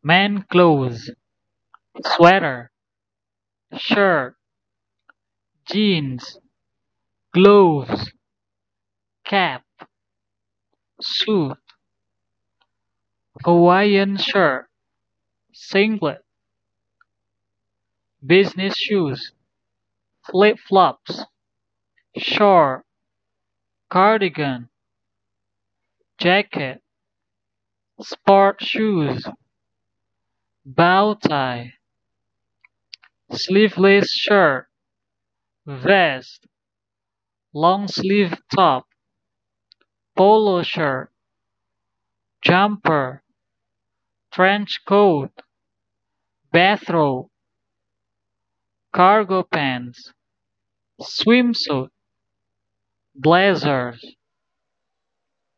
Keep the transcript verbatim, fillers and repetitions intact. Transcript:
Man clothes, sweater, shirt, jeans, gloves, cap, suit, Hawaiian shirt, singlet, business shoes, flip-flops, short, cardigan, jacket, sport shoes, bow tie, sleeveless shirt, vest, long sleeve top, polo shirt, jumper, trench coat, bathrobe, cargo pants, swimsuit, blazers,